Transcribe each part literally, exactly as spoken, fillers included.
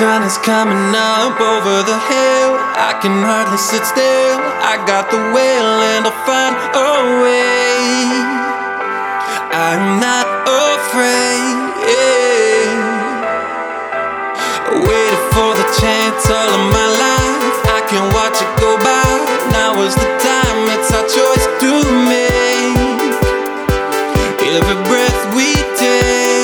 sun is coming up over the hill. I can hardly sit still. I got the will and I'll find a way. I'm not afraid. Waited for the chance all of my life. I can watch it go by. Now is the time, it's our choice to make. Every breath we take.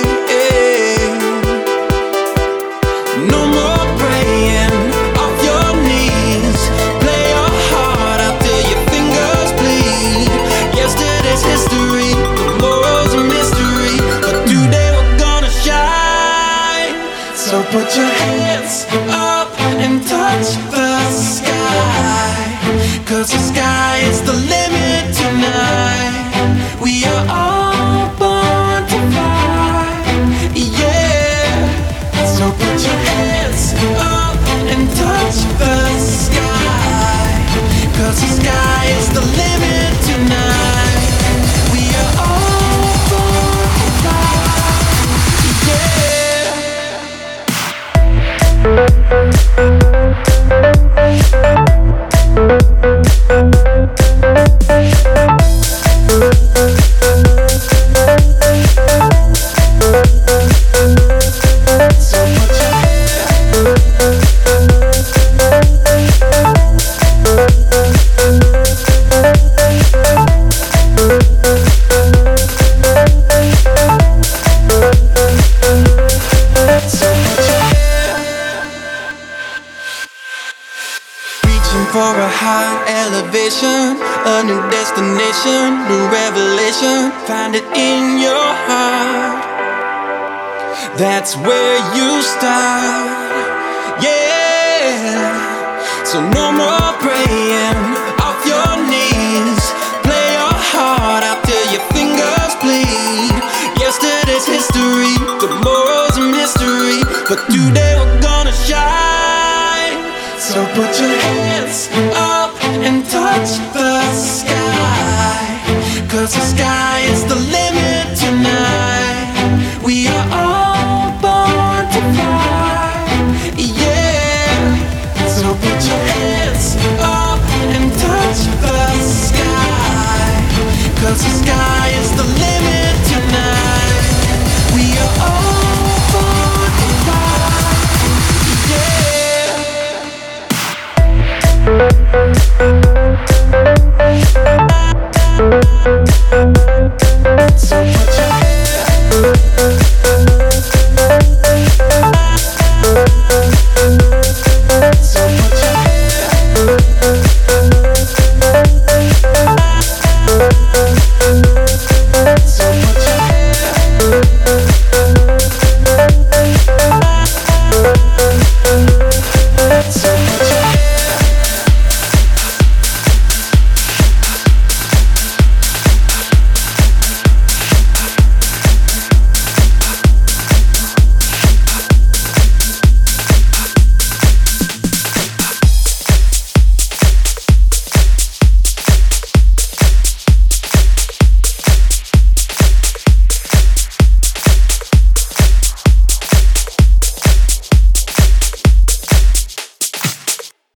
No more praying off your knees. Play your heart out till your fingers bleed. Yesterday's history, tomorrow's a mystery, but today we're gonna shine. So put your hands up and touch the sky, 'cause the sky is the limit tonight. We are all born to fly, yeah. So put your hands up and touch the sky, 'cause the sky is the limit tonight. We are all born to fly, yeah. For a high elevation, a new destination, new revelation. Find it in your heart. That's where you start, yeah. So no more praying off your knees. Play your heart out till your fingers bleed. Yesterday's history, tomorrow's a mystery, but today we're gonna shine. So put your hands up and touch the sky, 'cause the sky is the limit.